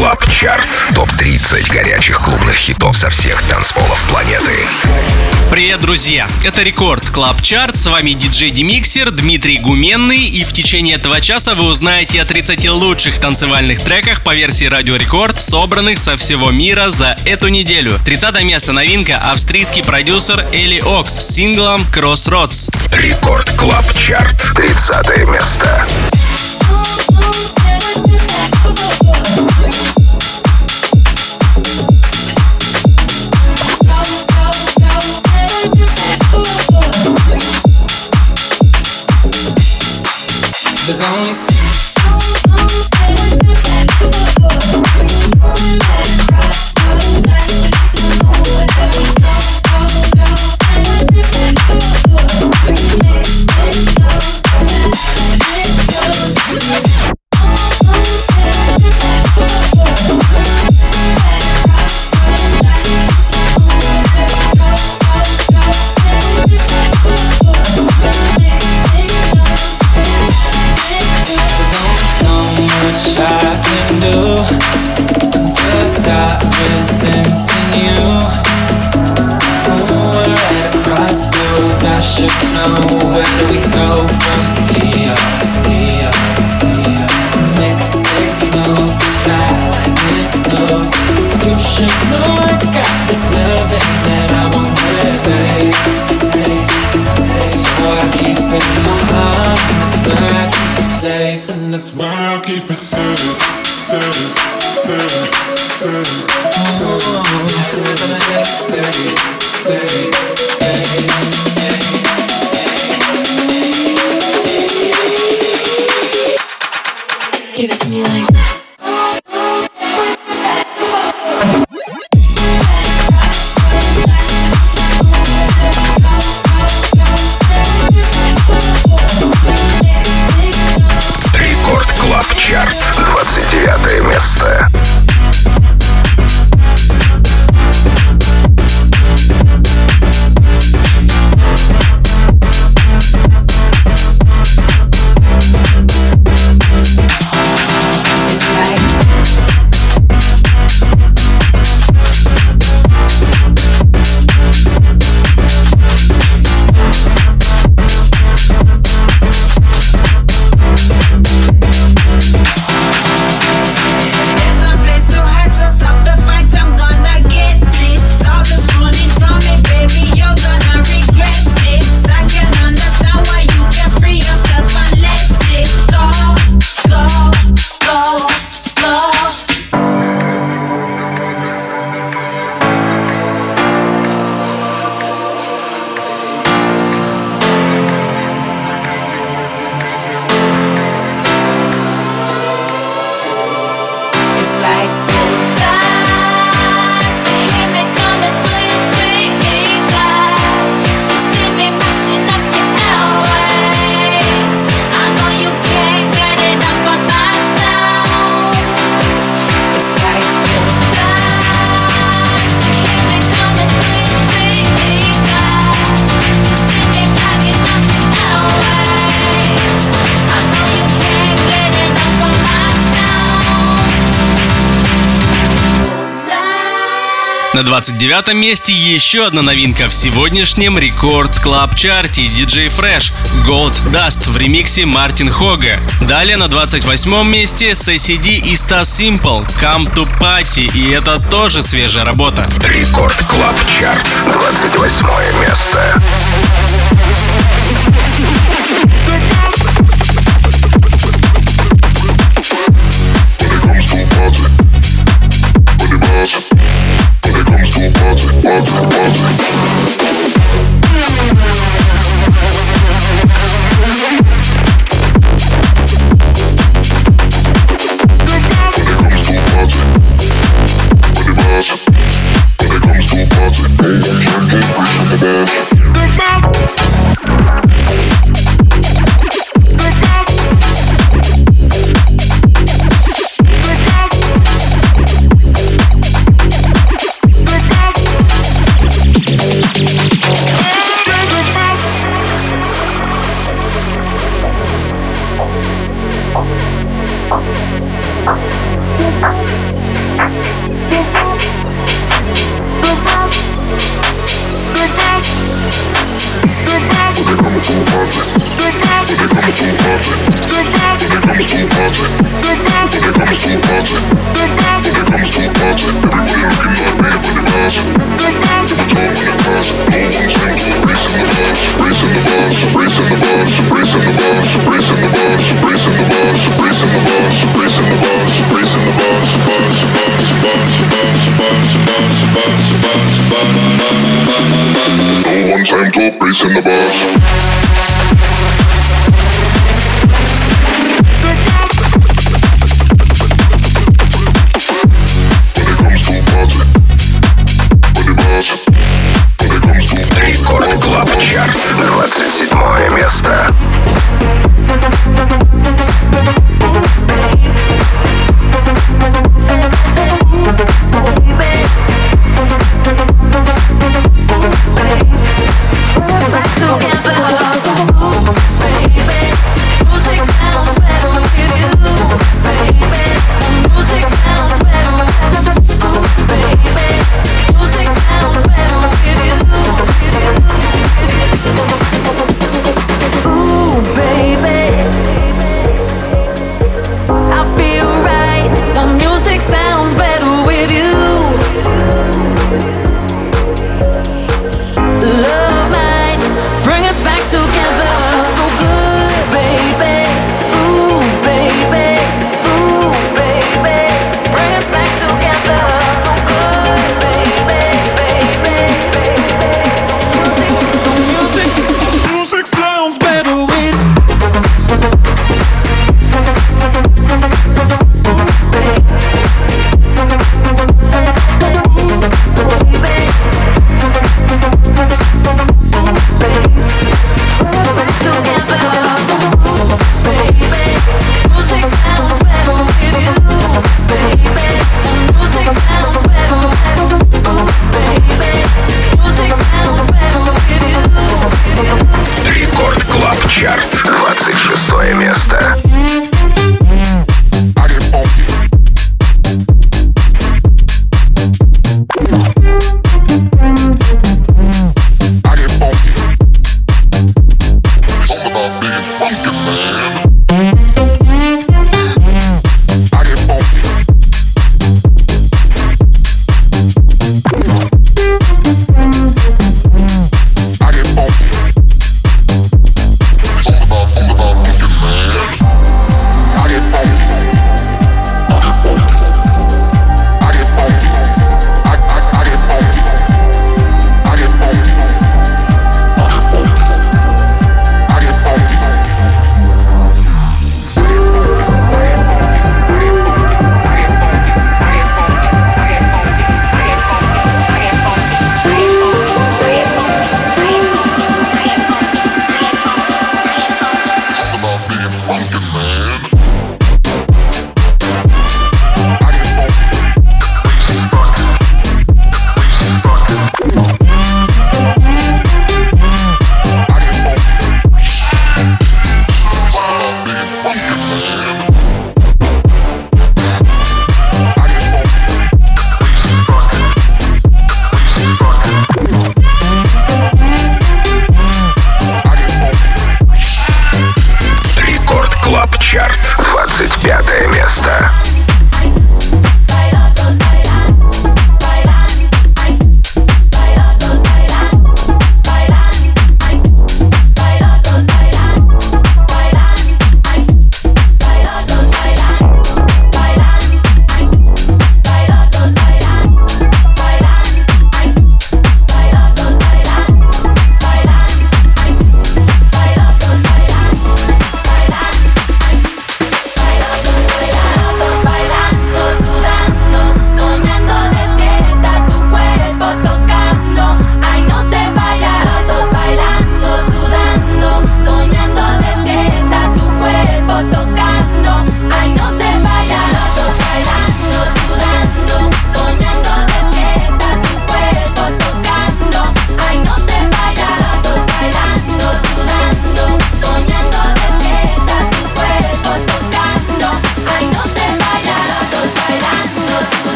Клаб Чарт. Топ-30 горячих клубных хитов со всех танцполов планеты. Привет, друзья! Это Рекорд Клаб Чарт. С вами диджей Демиксер Дмитрий Гуменный. И в течение этого часа вы узнаете о 30 лучших танцевальных треках по версии Радио Рекорд, собранных со всего мира за эту неделю. 30 место новинка — австрийский продюсер Эли Окс с синглом Crossroads. Рекорд Клаб Чарт. 30 место. There's only give it to me like Рекорд Клаб Чарт. 29 место. На 29 месте еще одна новинка в сегодняшнем Рекорд Клаб Чарте — DJ Fresh Gold Dust в ремиксе Мартин Хога. Далее на 28 месте SACD и Stas Simple Come to Party, и это тоже свежая работа. Рекорд Клаб Чарт. 28 место. One time to race in the bus. Рекорд Клаб Чарт, 27 место. Together.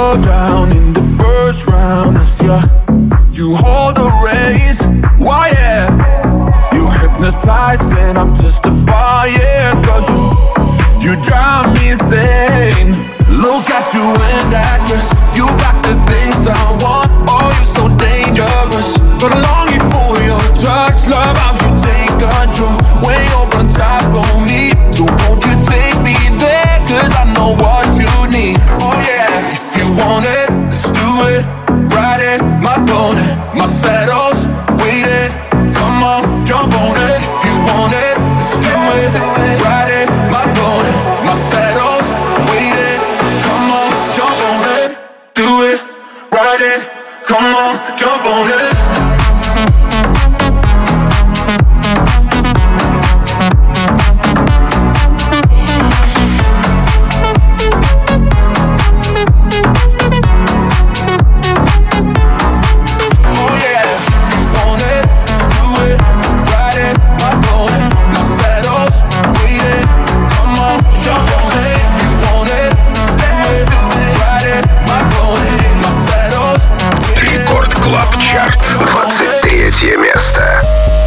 go down in the first round. As you hold the reins. Why, yeah, you hypnotize and I'm testifying. Girl, you drive me insane. Look at you in that dress. You got the things I want. Oh, you're so dangerous. But I'm longing for your touch. Love how you take control. When you're on top of me. So won't you take me there? Cause I know what you need. Oh yeah, if you want it, let's do it. Ride it, my pony, my saddle's waiting. Come on, jump on it. If you want it, let's do it. Ride it, my pony, my saddle's waiting. Come on, jump on it. Do it, ride it. Come on, jump on it. Клаб-чарт, 23 место.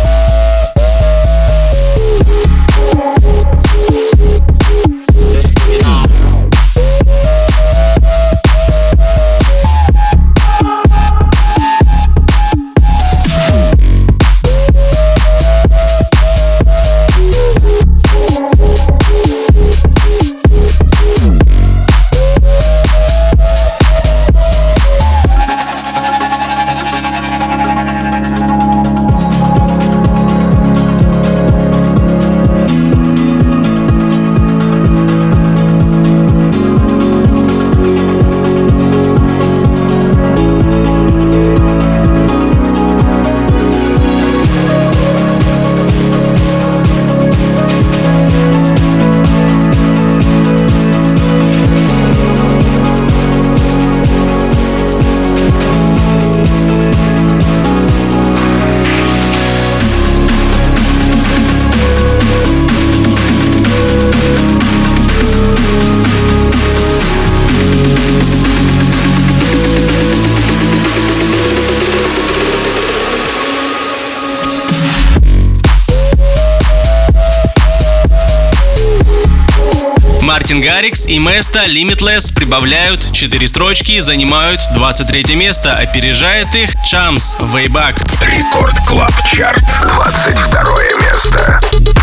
Мартин Гаррикс и Место Limitless прибавляют 4 строчки и занимают 23 место. Опережает их Chams Way Back. Рекорд Клаб Чарт, 22 место.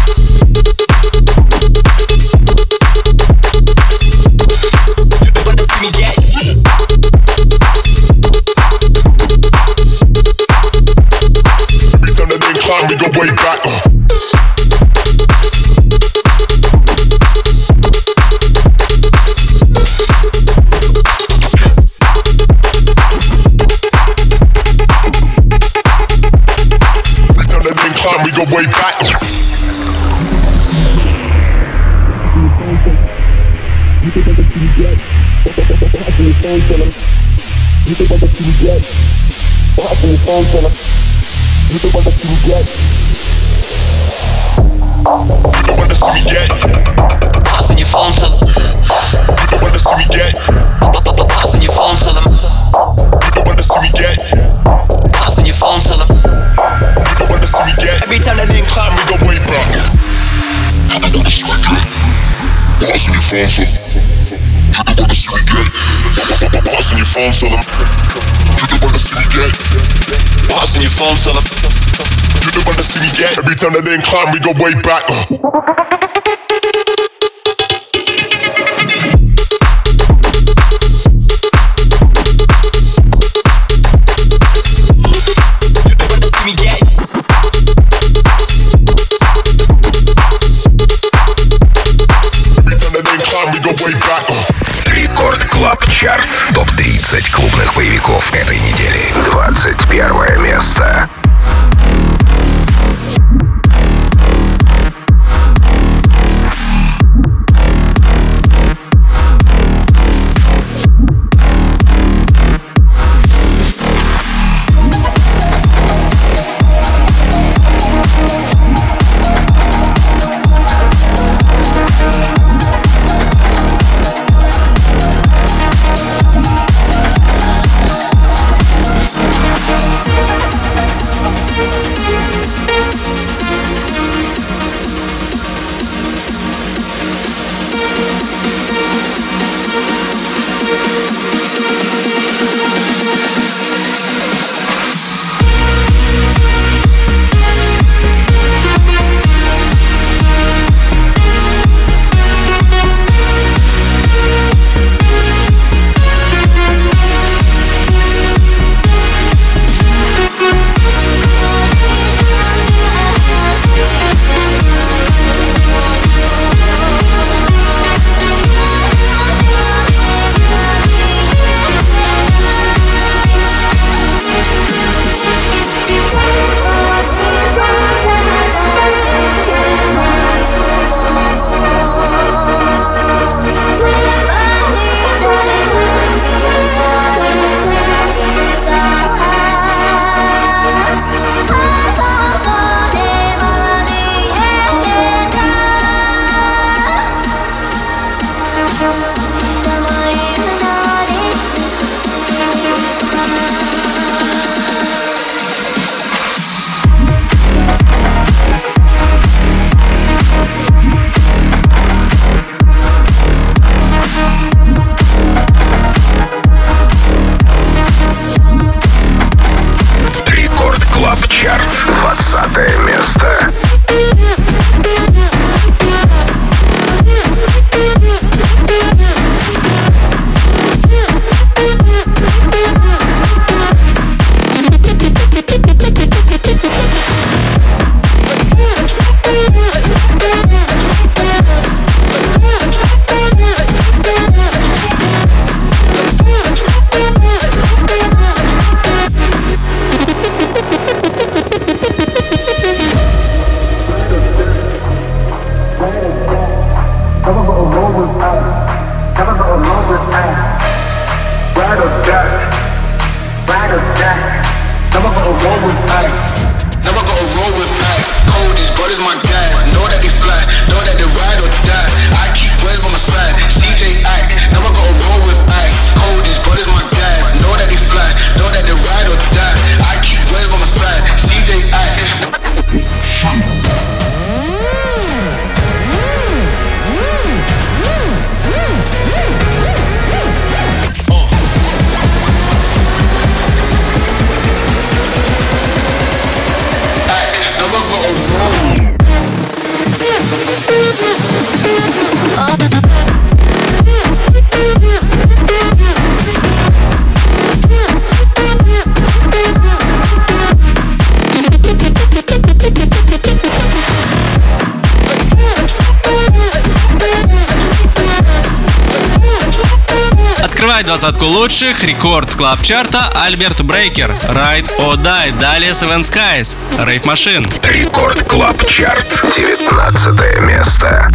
We go way back. We go way back. Passing your phone to them. You don't wanna see me get. Passing your phone to them. You don't wanna see me get. Passing your phone to them. You don't wanna see me get. Every time that they climb, We go way back. You don't wanna see me get. Passing your phone to them. You don't wanna see me get. Passing your phone to them. You don't wanna see me get. passing your phone to them. You don't wanna see me get. Every time that they climb, we go way back. Рекорд Клаб Чарт. Топ-30 клубных боевиков этой недели. 21 место. Открывает двадцатку лучших рекорд клаб чарта Альберт Брейкер, Ride or Die. Далее Seven Skies, Rave Machine. Рекорд Клаб Чарт, 19 место.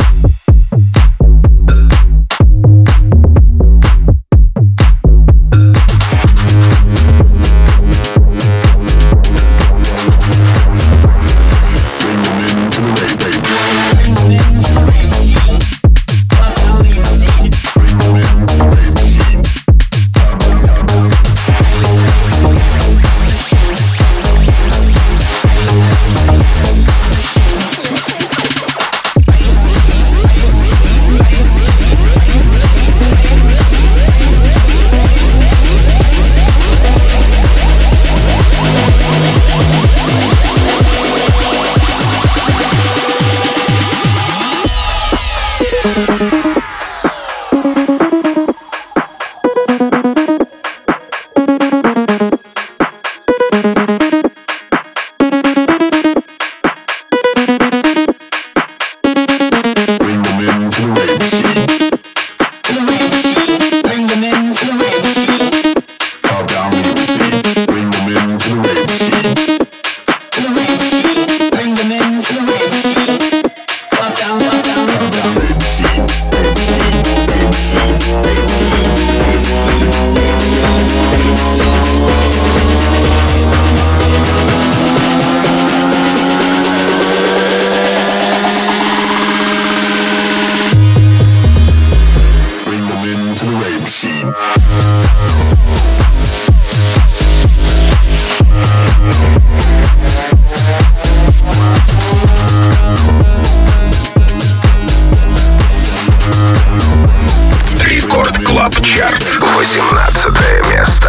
Клаб Чарт, 18 место.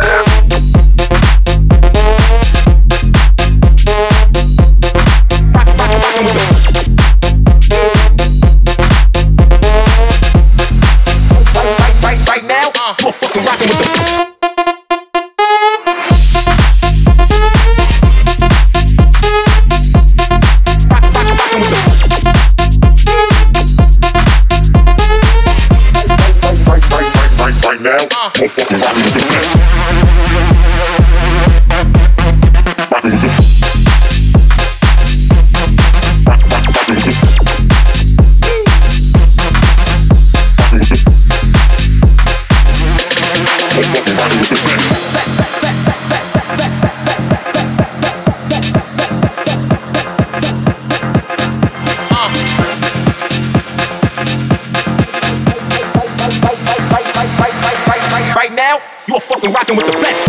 Rocking with the best.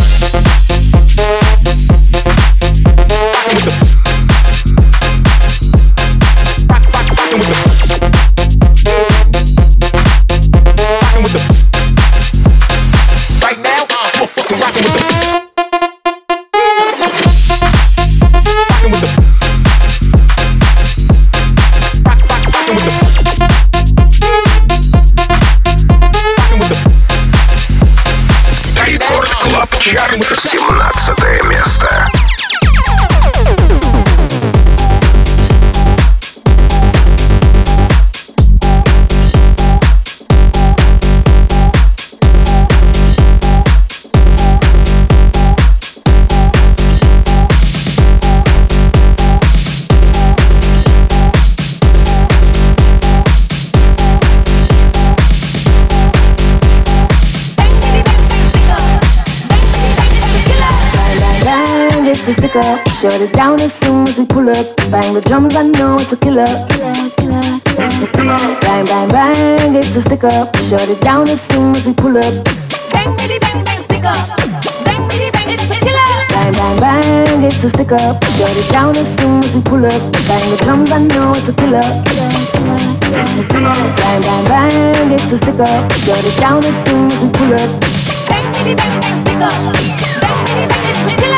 Чарт, 17 место. It's a sticker, shut it down as soon as we pull up. Bang the drums, I know it's a killer. It's a killer. Bang, bang, bang, it's a sticker, shut it down as soon as we pull up. Bang, bitty, bang, bang, sticker. Bang, bitty, bang, it's a killer. Bang, bang, bang, it's a sticker, shut it down as soon as we pull up. Bang the drums, I know it's a killer. It's a killer. Bang, bang, bang, it's a sticker, shut it down as soon as we pull up. Bang, bitty, bang, bang, sticker. Bang, bitty, bang, it's a killer.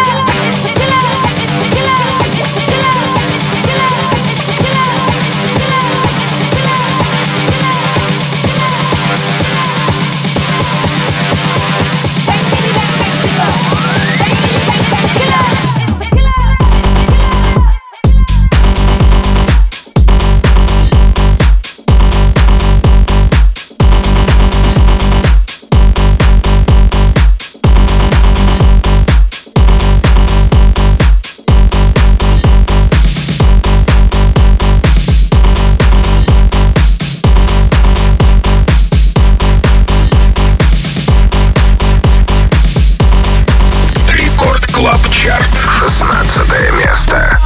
Клаб Чарт. 16 место.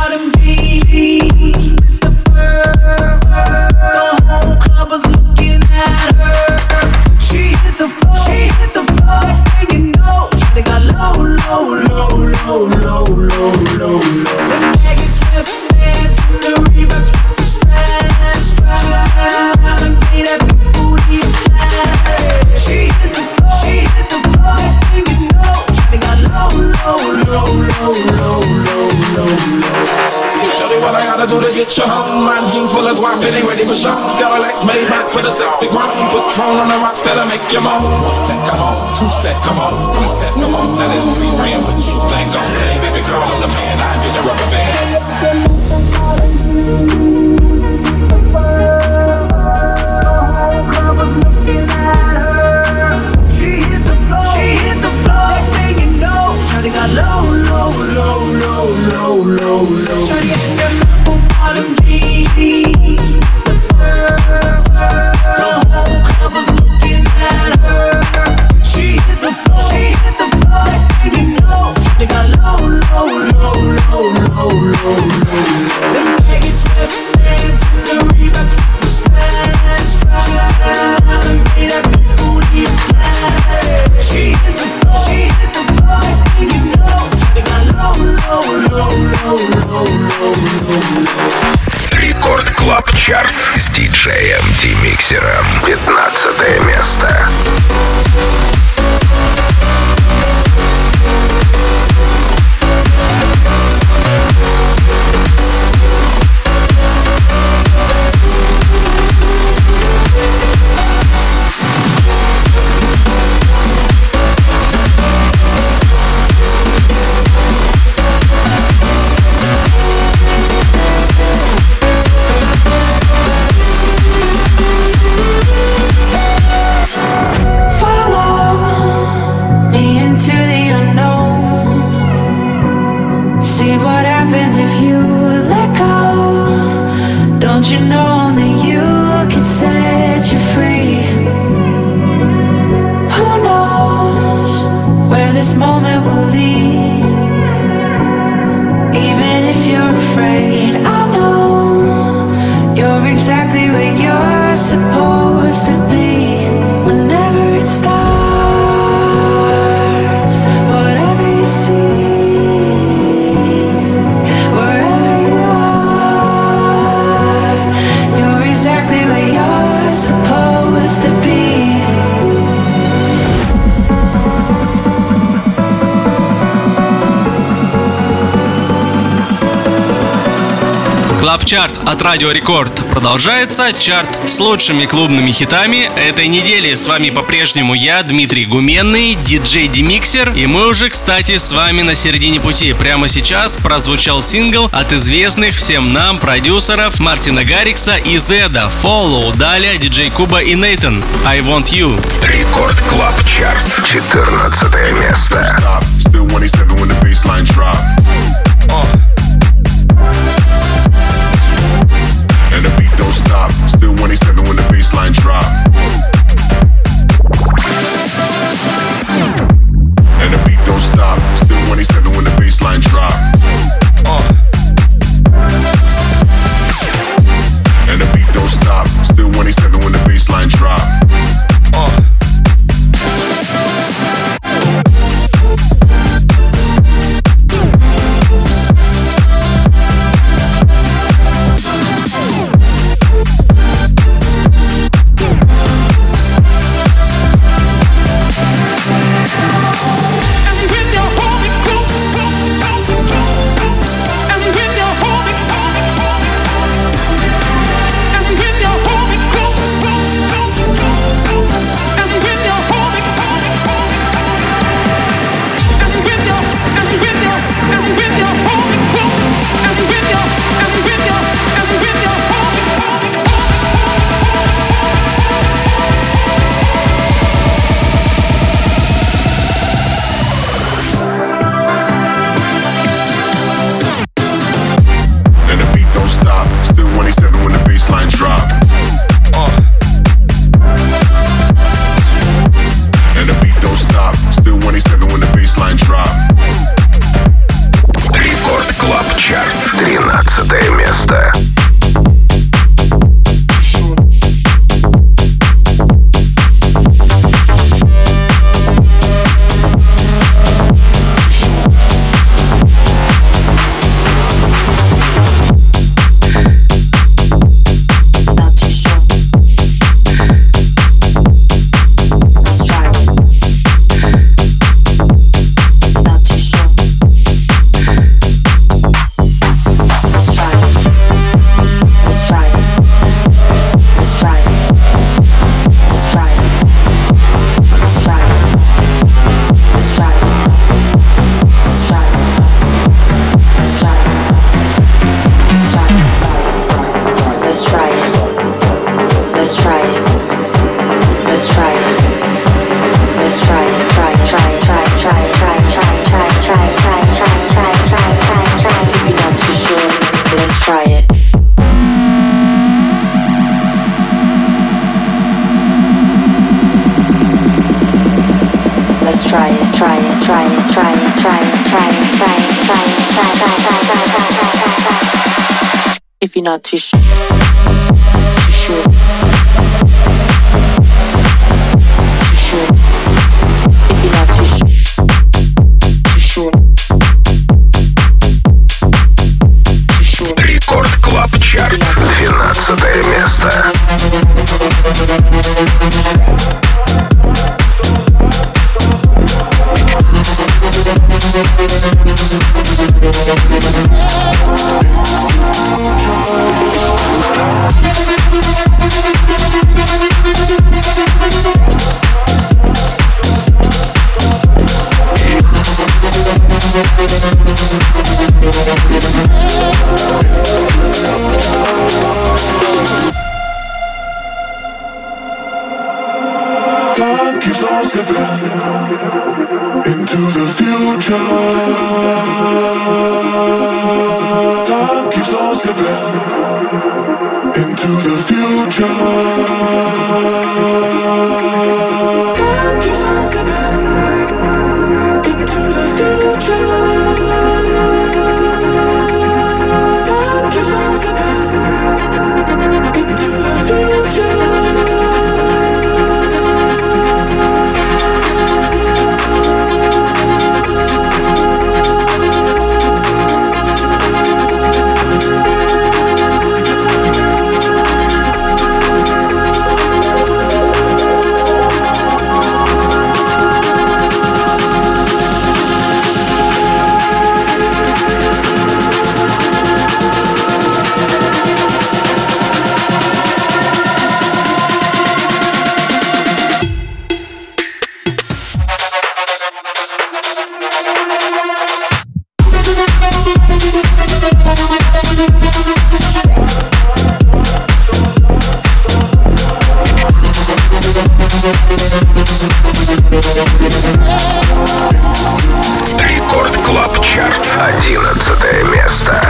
Get your home, my jeans full of guap and they ready for show. Skylax made back for the sexy grown. Put Tron on the rocks that'll make you moan. One step, come on, two steps, come on, three steps, come on. Now there's 3 grand, but you think I'm play, baby girl, I'm the man. I've been a rubber band. Рекорд Клаб Чарт с диджеем Демиксером. 15 место. Клаб-чарт от Радио Рекорд продолжается. Чарт с лучшими клубными хитами этой недели. С вами по-прежнему я, Дмитрий Гуменный, диджей Демиксер. И мы уже, кстати, с вами на середине пути. Прямо сейчас прозвучал сингл от известных всем нам продюсеров Мартина Гаррикса и Зеда. Follow. Далее диджей Куба и Нейтан. I Want You. Рекорд Клаб Чарт. 14 место. And the beat don't stop. Still 187 when the bassline drop. And the beat don't stop. Still 187 when the bassline drop. And the beat don't stop. Still 187 when the bassline drop. If you're not too sure, if you're not too sure. Рекорд Клаб Чарт, 12 место. Time keeps on slipping into the future. Time keeps on slipping into the future. Time keeps on slipping into the future. Time keeps on slipping into the future. Рекорд Клаб Чарт, 11 место.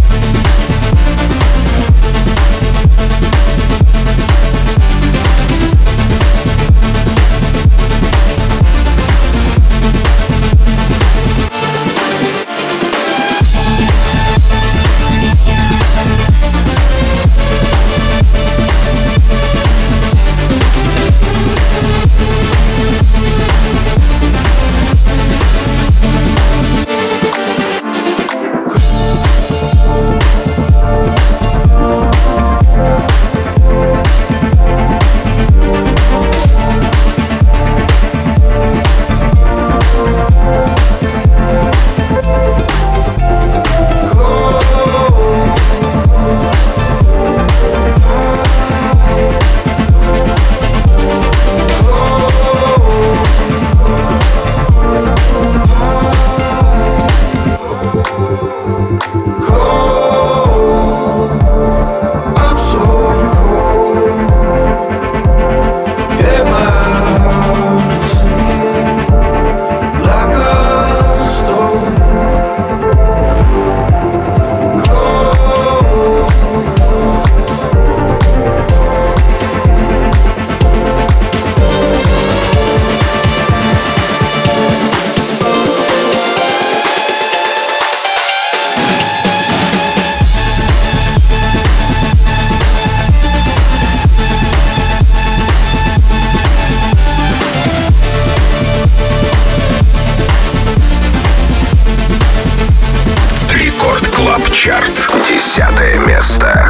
Чарт, 10 место.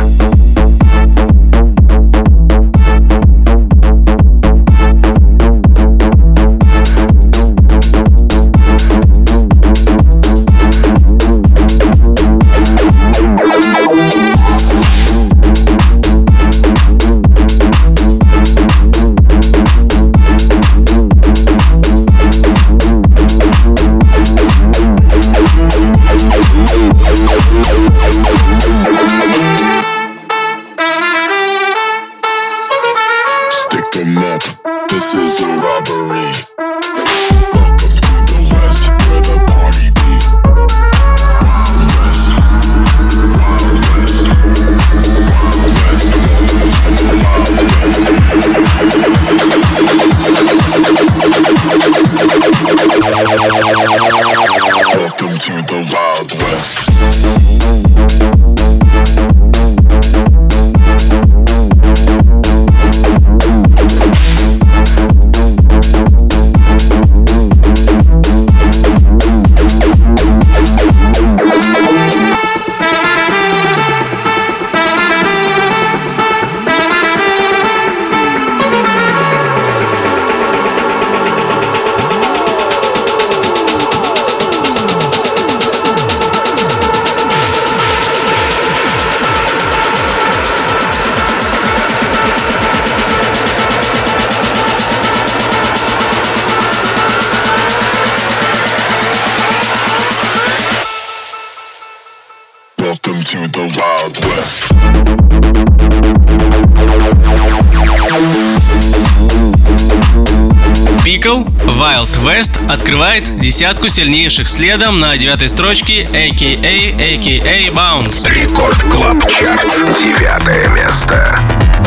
Wild West открывает десятку сильнейших следом на 9-й строчке AKA Bounce. Рекорд Клаб Чарт, 9 место.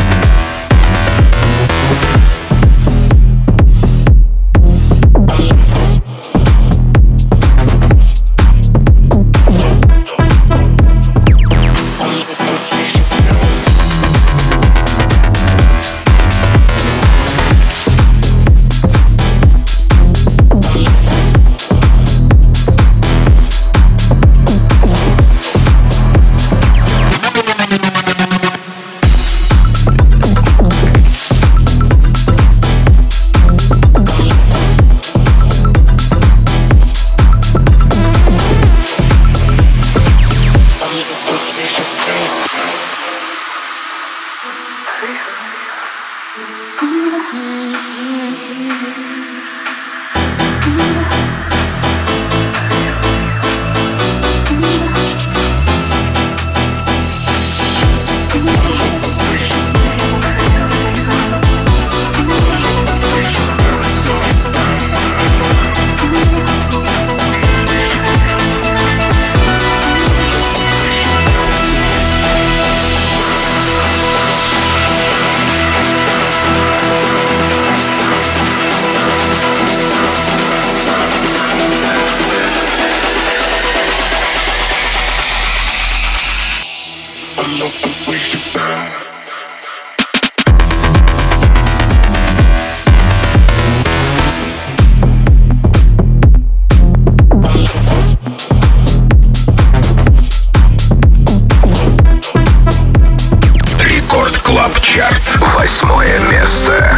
Чарт, 8 место.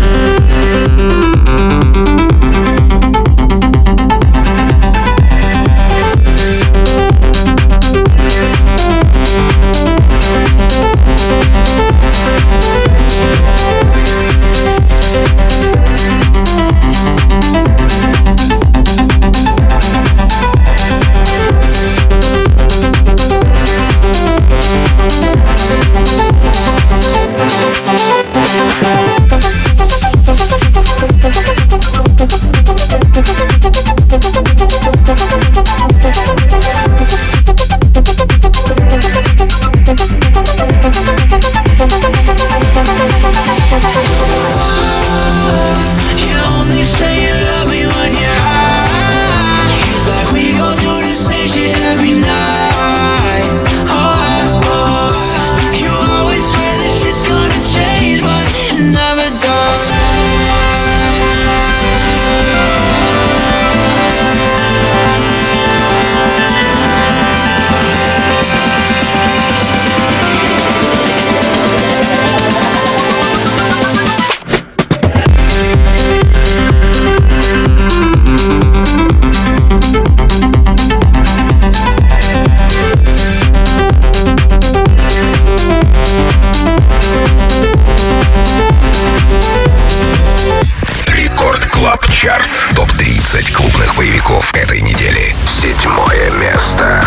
Чарт. Топ-30 клубных боевиков этой недели. 7 место.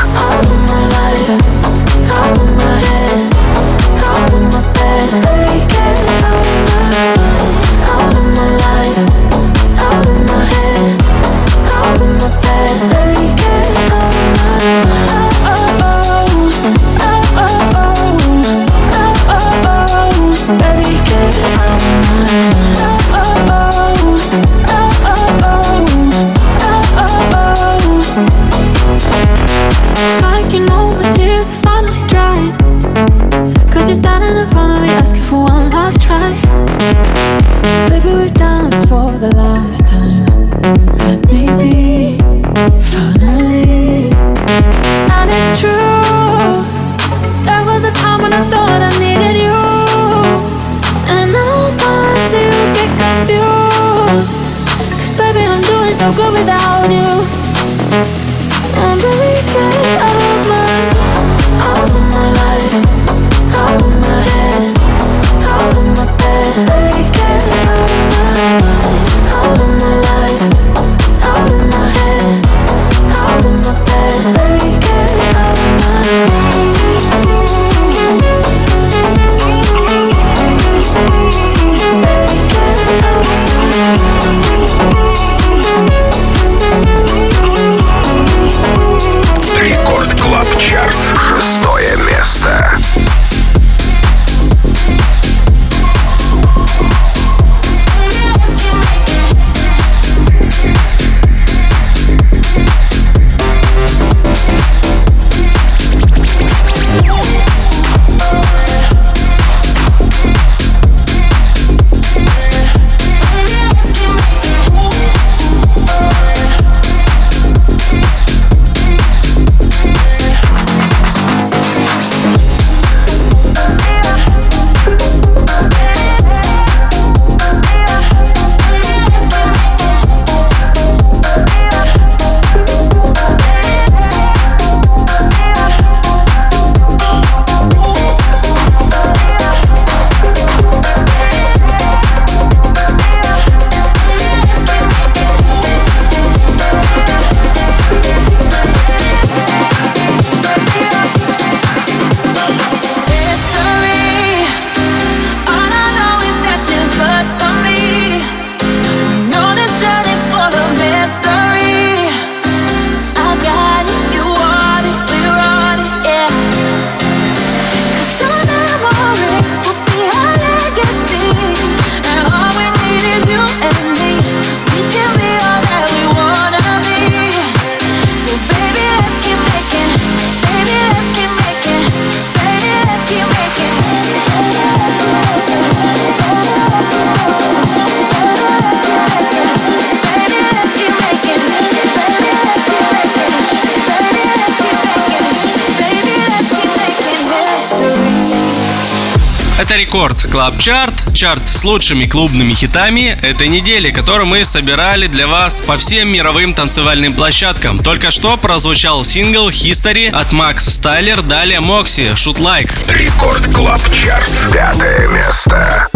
Это Рекорд Клаб Чарт, чарт с лучшими клубными хитами этой недели, который мы собирали для вас по всем мировым танцевальным площадкам. Только что прозвучал сингл History от Макса Стайлер, далее Мокси, Shoot Like. Рекорд Клаб Чарт, 5 место.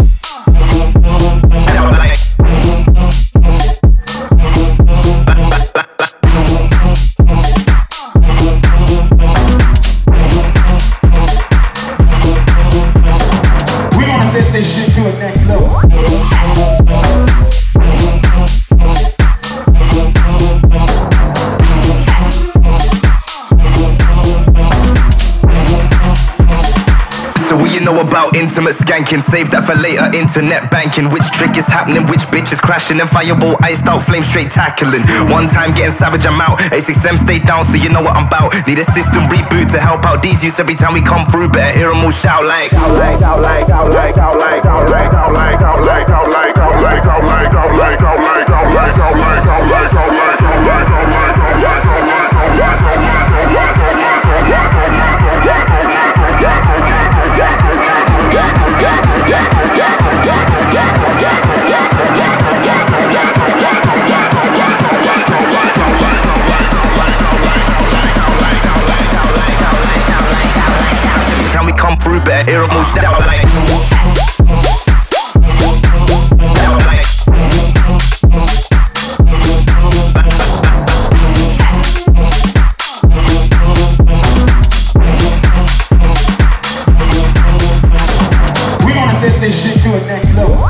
Take this shit to a next level. So what you know about intimate skanking? Save that for later, internet banking. Which trick is happening? Which bitch is crashing? And fireball, iced out, flame straight tackling. One time getting savage, I'm out. A6M stay down, so you know what I'm about. Need a system reboot to help out these youths every time we come through. Better hear them all shout like. Time we come through, better hear them all shout like. We gonna take this shit to a next level.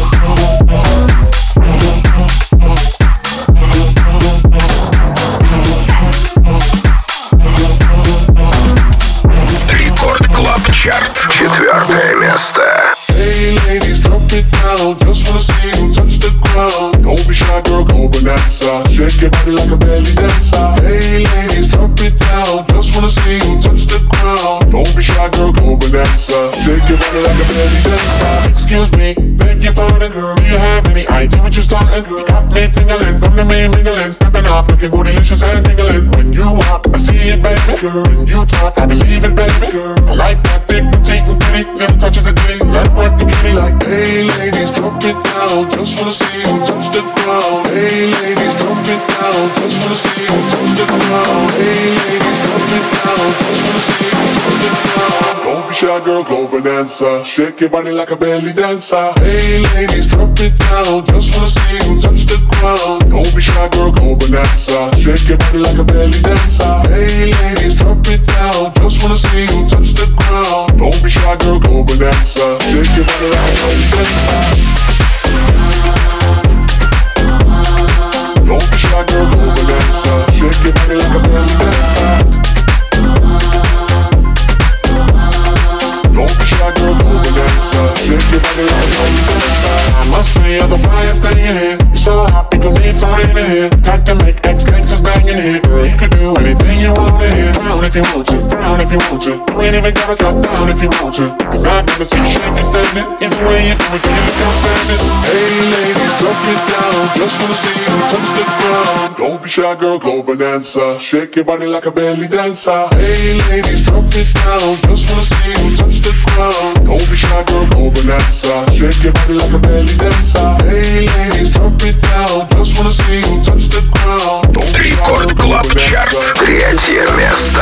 Рекорд Клаб Чарт, 4 место. Hey ladies, drop it down. Just wanna see you touch the ground. Don't be shy, girl, go bonanza. Shake your body like a belly dancer. Hey ladies, drop it down. Just wanna see you touch the ground. Don't be shy, girl, go bonanza. Shake your body like a belly dancer. Excuse me, beg your pardon, girl. Do you have any idea what you're starting, girl? Got me tingling, come to me mingling, stepping up, looking bootylicious and tingling. When you walk, I see it, baby, girl. When you talk, I believe it, baby, girl. I like that thick, petite, and pretty. Little touches of ditty, let it work the kitty like. Hey ladies, drop it down. Just wanna see you touch the ground. Hey ladies, drop it down. Just wanna see you touch the ground. Hey ladies, drop it down. Just wanna see you touch the ground. Don't be shy, girl, go bonanza. Shake your body like a belly dancer. Hey ladies, drop it down. Just wanna see you touch the ground. Don't be shy, girl, go bonanza. Shake your body like a belly dancer. Hey ladies, drop it down. Just wanna see you touch the ground. Don't be shy, girl, go bonanza. Shake your body like a belly dancer. Don't be shy, girl, go bonanza. Shake your body like a belly dancer. Don't be shy, girl, go bonanza. Shake your body like a belly dancer. I must say you're the flyest thing in here. You're so hot, we gon' need some rain in here. Type to make ex-gangsters bang in here. Girl, you could do anything you want in here. Down if you want to, down if you want to. You ain't even gotta drop down if you want to. Cause I've never seen you shake and standing. Either way you do it, you look outstanding. Hey ladies, drop it down. Just wanna see you touch the ground. Don't be shy, girl, go bonanza. Shake your body like a belly dancer. Hey ladies, drop it down. Just wanna see you touch the ground. Don't be shy, girl, go bonanza. Shake your body like a belly dancer. Hey ladies, drop it down. Just wanna see you touch the ground. Don't be shy, Рекорд Клаб Чарт, 3 место.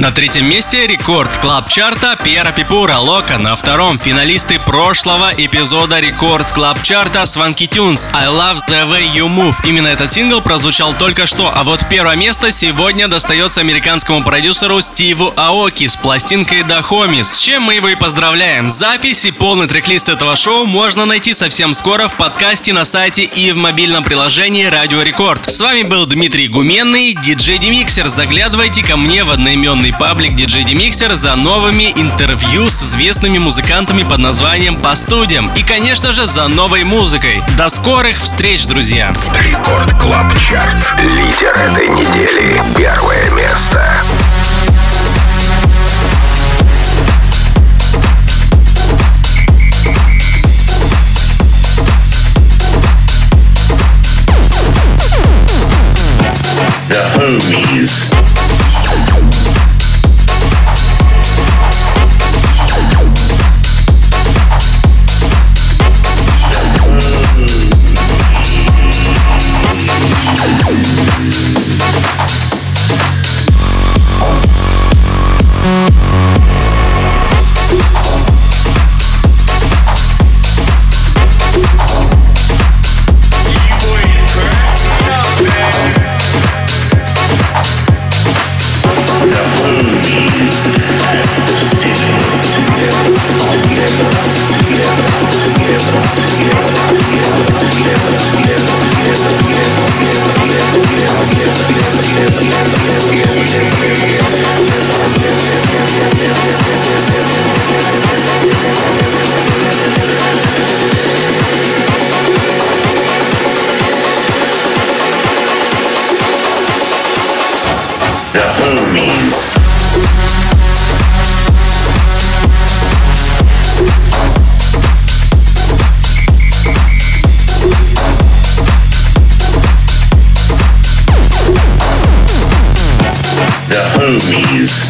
На третьем месте рекорд клаб чарта Пьера Пипура «Лока». На втором финалисты прошлого эпизода рекорд клаб чарта Swanky Tunes I Love the Way You Move. Именно этот сингл прозвучал только что, а вот первое место сегодня достается американскому продюсеру Стиву Аоки с пластинкой The Homies, с чем мы его и поздравляем. Запись и полный трек-лист этого шоу можно найти совсем скоро в подкасте на сайте и в мобильном приложении Радио Рекорд. С вами был Дмитрий Гуменный, DJ Demixer. Заглядывайте ко мне в одноименный паблик DJ Demixer за новыми интервью с известными музыкантами под названием «По студиям» и, конечно же, за новой музыкой. До скорых встреч, друзья! Рекорд Клаб Чарт. Лидер этой недели. Первое место. The Homies. The Homies.